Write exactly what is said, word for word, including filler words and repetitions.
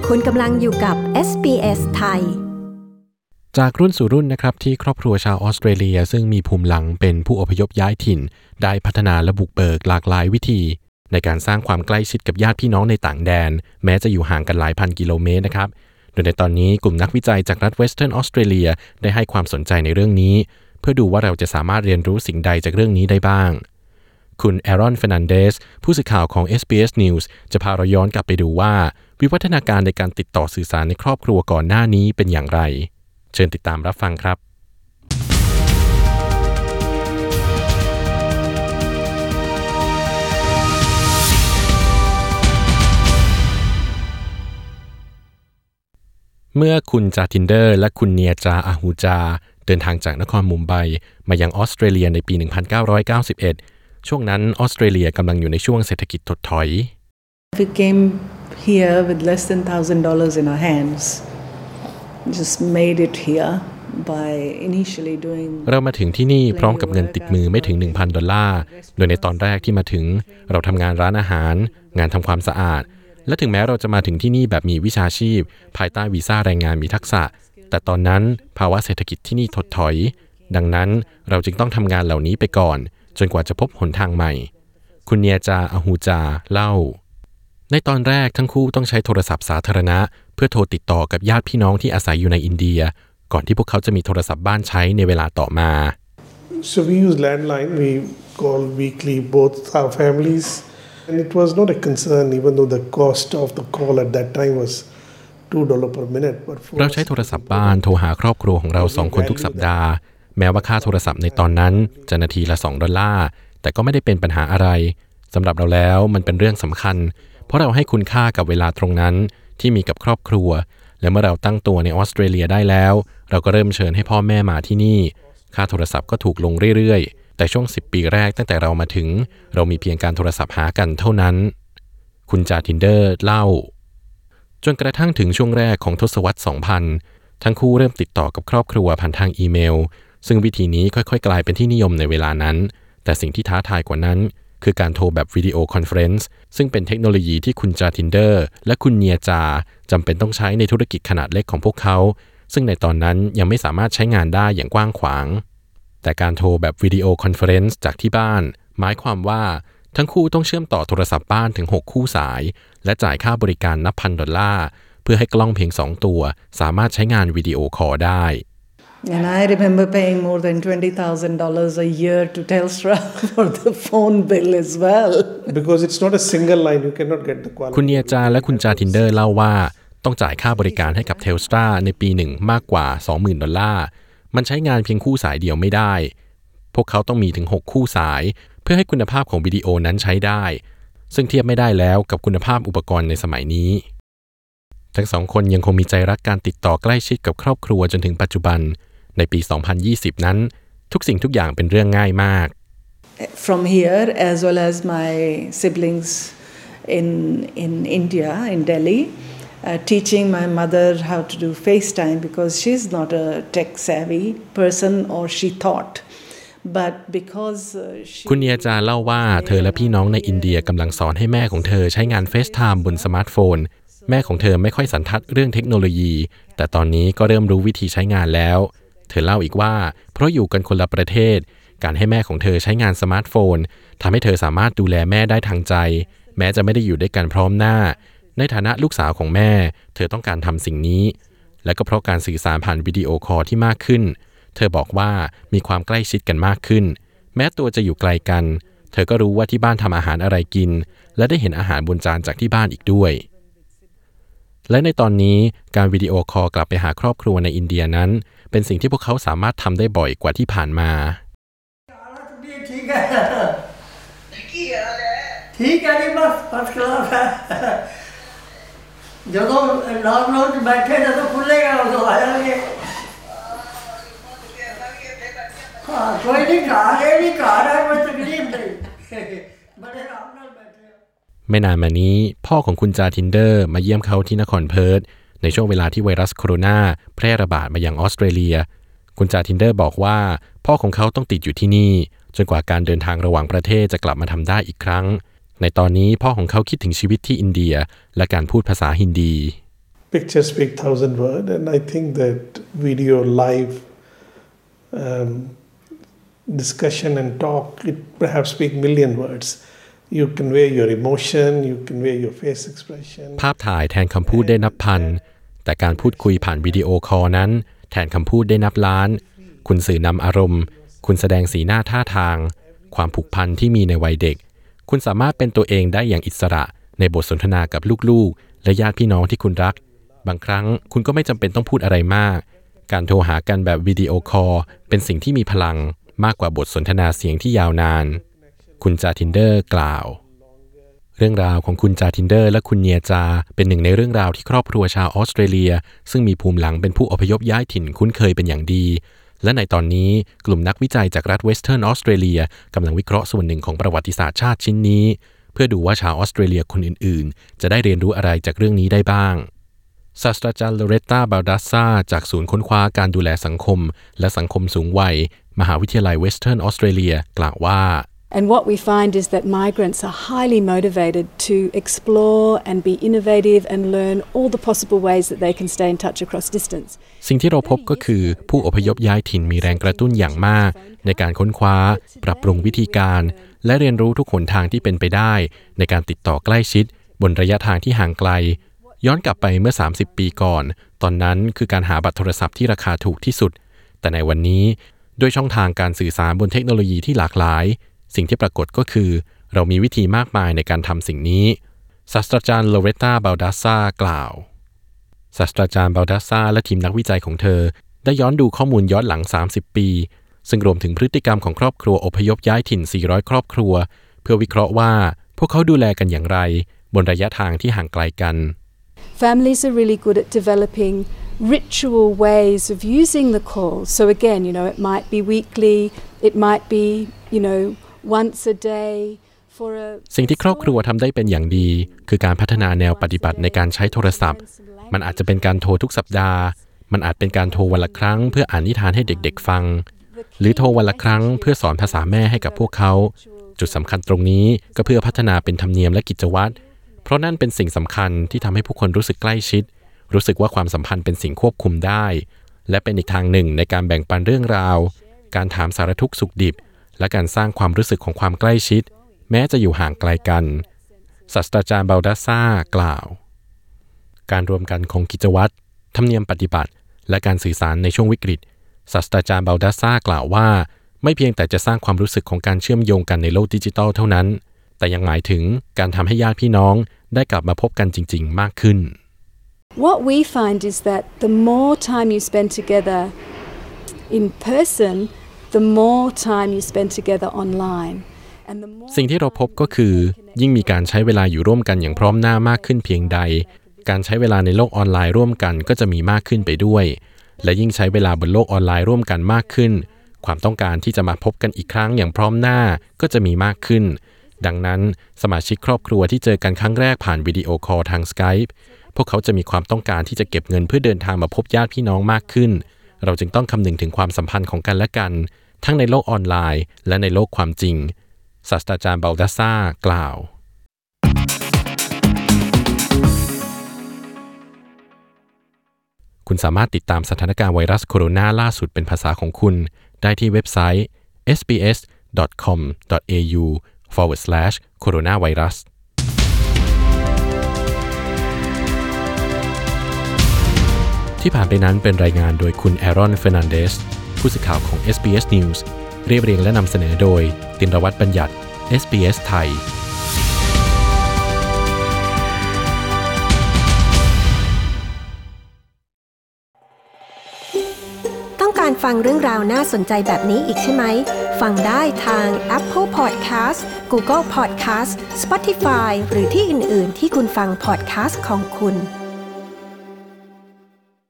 คุณกำลังอยู่กับ เอส บี เอส ไทยจากรุ่นสู่รุ่นนะครับที่ครอบครัวชาวออสเตรเลียซึ่งมีภูมิหลังเป็นผู้อพยพย้ายถิ่นได้พัฒนาและบุกเบิกหลากหลายวิธีในการสร้างความใกล้ชิดกับญาติพี่น้องในต่างแดนแม้จะอยู่ห่างกันหลายพันกิโลเมตรนะครับโดยในตอนนี้กลุ่มนักวิจัยจากรัฐเวสเทิร์นออสเตรเลียได้ให้ความสนใจในเรื่องนี้เพื่อดูว่าเราจะสามารถเรียนรู้สิ่งใดจากเรื่องนี้ได้บ้างคุณแอรอน เฟร์นันเดสผู้สื่อข่าวของ เอส บี เอส News จะพาเราย้อนกลับไปดูว่าวิวัฒนาการในการติดต่อสื่อสารในครอบครัวก่อนหน้านี้เป็นอย่างไรเชิญติดตามรับฟังครับเมื่อคุณจาทินเดอร์และคุณเนียจาอาฮูจาเดินทางจากนครมุมไบมายังออสเตรเลียในปี หนึ่งพันเก้าร้อยเก้าสิบเอ็ด ช่วงนั้นออสเตรเลียกำลังอยู่ในช่วงเศรษฐกิจถดถอย We came here with less than one thousand dollars in our hands. Just made it here by initially doing เรามาถึงที่นี่พร้อมกับเงินติดมือไม่ถึง หนึ่งพัน ดอลลาร์โดยในตอนแรกที่มาถึงเราทำงานร้านอาหารงานทำความสะอาดและถึงแม้เราจะมาถึงที่นี่แบบมีวิชาชีพภายใต้วีซ่าแรงงานมีทักษะแต่ตอนนั้นภาวะเศรษฐกิจที่นี่ถดถอยดังนั้นเราจึงต้องทำงานเหล่านี้ไปก่อนจนกว่าจะพบหนทางใหม่คุณเนียจาอาฮูจาเล่าในตอนแรกทั้งคู่ต้องใช้โทรศัพท์สาธารณะเพื่อโทรติดต่อกับญาติพี่น้องที่อาศัยอยู่ในอินเดียก่อนที่พวกเขาจะมีโทรศัพท์บ้านใช้ในเวลาต่อมา So we use landline. We call weekly both our families, and it was not a concern, even though the cost of the call at that time was two dollars per minute. But เราใช้โทรศัพท์บ้านโทรหาครอบครัวของเราสองคนทุกสัปดาห์แม้ว่าค่าโทรศัพท์ในตอนนั้นจะนาทีละสองดอลลาร์แต่ก็ไม่ได้เป็นปัญหาอะไรสำหรับเราแล้วมันเป็นเรื่องสำคัญเพราะเราให้คุณค่ากับเวลาตรงนั้นที่มีกับครอบครัวและเมื่อเราตั้งตัวในออสเตรเลียได้แล้วเราก็เริ่มเชิญให้พ่อแม่มาที่นี่ค่าโทรศัพท์ก็ถูกลงเรื่อยๆแต่ช่วงสิบปีแรกตั้งแต่เรามาถึงเรามีเพียงการโทรศัพท์หากันเท่านั้นคุณจาทินเดอร์เล่าจนกระทั่งถึงช่วงแรกของทศวรรษ สองพัน ทั้งคู่เริ่มติดต่อกับครอบครัวผ่านทางอีเมลซึ่งวิธีนี้ค่อยๆกลายเป็นที่นิยมในเวลานั้นแต่สิ่งที่ท้าทายกว่านั้นคือการโทรแบบวิดีโอคอนเฟอเรนซ์ซึ่งเป็นเทคโนโลยีที่คุณจาทินเดอร์และคุณเนียจาจำเป็นต้องใช้ในธุรกิจขนาดเล็กของพวกเขาซึ่งในตอนนั้นยังไม่สามารถใช้งานได้อย่างกว้างขวางแต่การโทรแบบวิดีโอคอนเฟอเรนซ์จากที่บ้านหมายความว่าทั้งคู่ต้องเชื่อมต่อโทรศัพท์บ้านถึงหกคู่สายและจ่ายค่าบริการนับพันดอลลาร์เพื่อให้กล้องเพียงสองตัวสามารถใช้งานวิดีโอคอลได้ And I remember paying more than twenty thousand dollars a year to Telstra for the phone bill as well. Because it's not a single line, you cannot get the quality. คุณเนียจาและคุณจาทินเดอร์เล่าว่าต้องจ่ายค่าบริการให้กับ Telstra ในปีหนึ่งมากกว่า สองหมื่น ดอลลาร์มันใช้งานเพียงคู่สายเดียวไม่ได้พวกเขาต้องมีถึงหกคู่สายเพื่อให้คุณภาพของวิดีโอนั้นใช้ได้ซึ่งเทียบไม่ได้แล้วกับคุณภาพอุปกรณ์ในสมัยนี้ทั้งสองคนยังคงมีใจรักการติดต่อใกล้ชิดกับครอบครัวจนถึงปัจจุบันในปี สองพันยี่สิบ นั้นทุกสิ่งทุกอย่างเป็นเรื่องง่ายมาก From here as well as my siblings in in India in Delhi uh, teaching my mother how to do FaceTime because she's not a tech savvy person or she thought but because คุณเนียจาเล่าว่าเธอและพี่น้องในอินเดียกำลังสอนให้แม่ของเธอใช้งาน FaceTime บนสมาร์ทโฟนแม่ของเธอไม่ค่อยสันทัดเรื่องเทคโนโลยีแต่ตอนนี้ก็เริ่มรู้วิธีใช้งานแล้วเธอเล่าอีกว่าเพราะอยู่กันคนละประเทศการให้แม่ของเธอใช้งานสมาร์ทโฟนทำให้เธอสามารถดูแลแม่ได้ทางใจแม้จะไม่ได้อยู่ด้วยกันพร้อมหน้าในฐานะลูกสาวของแม่เธอต้องการทำสิ่งนี้และก็เพราะการสื่อสารผ่านวิดีโอคอลที่มากขึ้นเธอบอกว่ามีความใกล้ชิดกันมากขึ้นแม้ตัวจะอยู่ไกลกันเธอก็รู้ว่าที่บ้านทำอาหารอะไรกินและได้เห็นอาหารบนจานจากที่บ้านอีกด้วยและในตอนนี้การวิดีโอคอลกลับไปหาครอบครัวในอินเดียนั้นเป็นสิ่งที่พวกเขาสามารถทำได้บ่อยกว่าที่ผ่านมาไม่นานมานี้พ่อของคุณจาทินเดอร์มาเยี่ยมเขาที่นครเพิร์ธในช่วงเวลาที่ไวรัสโคโรนาแพร่ระบาดมายังออสเตรเลียคุณจาทินเดอร์บอกว่าพ่อของเขาต้องติดอยู่ที่นี่จนกว่าการเดินทางระหว่างประเทศจะกลับมาทำได้อีกครั้งในตอนนี้พ่อของเขาคิดถึงชีวิตที่อินเดียและการพูดภาษาฮินดี pictures speak thousand words, and I think that video live um, discussion and talk, it perhaps speak million words. You convey your emotion, you convey your face expression. ภาพถ่ายแทนคำพูดได้นับพันแต่การพูดคุยผ่านวิดีโอคอลนั้นแทนคำพูดได้นับล้านคุณสื่อนำอารมณ์คุณแสดงสีหน้าท่าทางความผูกพันที่มีในวัยเด็กคุณสามารถเป็นตัวเองได้อย่างอิสระในบทสนทนากับลูกๆและญาติพี่น้องที่คุณรักบางครั้งคุณก็ไม่จำเป็นต้องพูดอะไรมากการโทรหากันแบบวิดีโอคอลเป็นสิ่งที่มีพลังมากกว่าบทสนทนาเสียงที่ยาวนานคุณจาทินเดอร์กล่าวเรื่องราวของคุณจาทินเดอร์และคุณเนียจาเป็นหนึ่งในเรื่องราวที่ครอบครัวชาวออสเตรเลียซึ่งมีภูมิหลังเป็นผู้อพยพย้ายถิ่นคุ้นเคยเป็นอย่างดีและในตอนนี้กลุ่มนักวิจัยจากรัฐเวสเทิร์นออสเตรเลียกำลังวิเคราะห์ส่วนหนึ่งของประวัติศาสตร์ชาติชิ้นนี้เพื่อดูว่าชาวออสเตรเลียคนอื่นๆจะได้เรียนรู้อะไรจากเรื่องนี้ได้บ้างศาสตราจารย์โลเรตตาบาลดัสซาจากศูนย์ค้นคว้าการดูแลสังคมและสังคมสูงวัยมหาวิทยาลัยเวสเทิร์นออสเตรเลียกล่าวว่า And what we find is that migrants are highly motivated to explore and be innovative and learn all the possible ways that they can stay in touch across distance. สิ่งที่เราพบก็คือผู้อพยพย้ายถิ่นมีแรงกระตุ้นอย่างมากในการค้นคว้าปรับปรุงวิธีการและเรียนรู้ทุกหนทางที่เป็นไปได้ในการติดต่อใกล้ชิดบนระยะทางที่ห่างไกลย้อนกลับไปเมื่อสามสิบปีก่อนตอนนั้นคือการหาบัตรโทรศัพท์ที่ราคาถูกที่สุดแต่ในวันนี้ด้วยช่องทางการสื่อสารบนเทคโนโลยีที่หลากหลายสิ่งที่ปรากฏก็คือเรามีวิธีมากมายในการทำสิ่งนี้ศาสตราจารย์โลเรตตาบาลดัสซากล่าวศาสตราจารย์บาลดัสซาและทีมนักวิจัยของเธอได้ย้อนดูข้อมูลย้อนหลังสามสิบปีซึ่งรวมถึงพฤติกรรมของครอบครัวอพยพย้ายถิ่นสี่ร้อยครอบครัวเพื่อวิเคราะห์ว่าพวกเขาดูแลกันอย่างไรบนระยะทางที่ห่างไกลกัน Families are really good at developing ritual ways of using the call. So again, you know, it might be weekly, it might be, you know, once a day for a สิ่งที่ครอบครัวทำได้เป็นอย่างดีคือการพัฒนาแนวปฏิบัติในการใช้โทรศัพท์มันอาจจะเป็นการโทรทุกสัปดาห์มันอาจเป็นการโทรวันละครั้งเพื่ออ่านนิทานให้เด็กๆฟังหรือโทรวันละครั้งเพื่อสอนภาษาแม่ให้กับพวกเขาจุดสำคัญตรงนี้ก็เพื่อพัฒนาเป็นธรรมเนียมและกิจวัตรเพราะนั่นเป็นสิ่งสำคัญที่ทำให้ผู้คนรู้สึกใกล้ชิดรู้สึกว่าความสัมพันธ์เป็นสิ่งควบคุมได้และเป็นอีกทางหนึ่งในการแบ่งปันเรื่องราวการถามสารทุกข์สุขดิบและการสร้างความรู้สึกของความใกล้ชิดแม้จะอยู่ห่างไกลกันศาสตราจารย์บาลดัสซากล่าวการรวมกันของกิจวัตรธรรมเนียมปฏิบัติและการสื่อสารในช่วงวิกฤตศาสตราจารย์บาลดัสซากล่าวว่าไม่เพียงแต่จะสร้างความรู้สึกของการเชื่อมโยงกันในโลกดิจิทัลเท่านั้นแต่ยังหมายถึงการทำให้ญาติพี่น้องได้กลับมาพบกันจริงๆมากขึ้น What we find is that the more time you spend together in person, the more time you spend together online. สิ่งที่เราพบก็คือยิ่งมีการใช้เวลาอยู่ร่วมกันอย่างพร้อมหน้ามากขึ้นเพียงใดการใช้เวลาในโลกออนไลน์ร่วมกันก็จะมีมากขึ้นไปด้วยและยิ่งใช้เวลาบนโลกออนไลน์ร่วมกันมากขึ้นความต้องการที่จะมาพบกันอีกครั้งอย่างพร้อมหน้าก็จะมีมากขึ้นดังนั้นสมาชิกครอบครัวที่เจอกันครั้งแรกผ่านวิดีโอคอลทาง Skype พวกเขาจะมีความต้องการที่จะเก็บเงินเพื่อเดินทางมาพบญาติพี่น้องมากขึ้นเราจึงต้องคำนึงถึงความสัมพันธ์ของกันและกันทั้งในโลกออนไลน์และในโลกความจริงศาสตราจารย์บาลดัสซากล่าวคุณสามารถติดตามสถานการณ์ไวรัสโคโรนาล่าสุดเป็นภาษาของคุณได้ที่เว็บไซต์ เอส บี เอส ดอท คอม ดอท เอ ยู forward slash โคโรนาไวรัสที่ผ่านไปนั้นเป็นรายงานโดยคุณแอรอนเฟอร์นันเดสผู้สื่อข่าวของ เอส บี เอส News เรียบเรียงและนำเสนอโดยตินรวัฒน์บัญญัติ เอส บี เอส ไทยต้องการฟังเรื่องราวน่าสนใจแบบนี้อีกใช่ไหมฟังได้ทาง Apple Podcast Google Podcast Spotify หรือที่อื่น ๆ ที่คุณฟัง podcast ของคุณ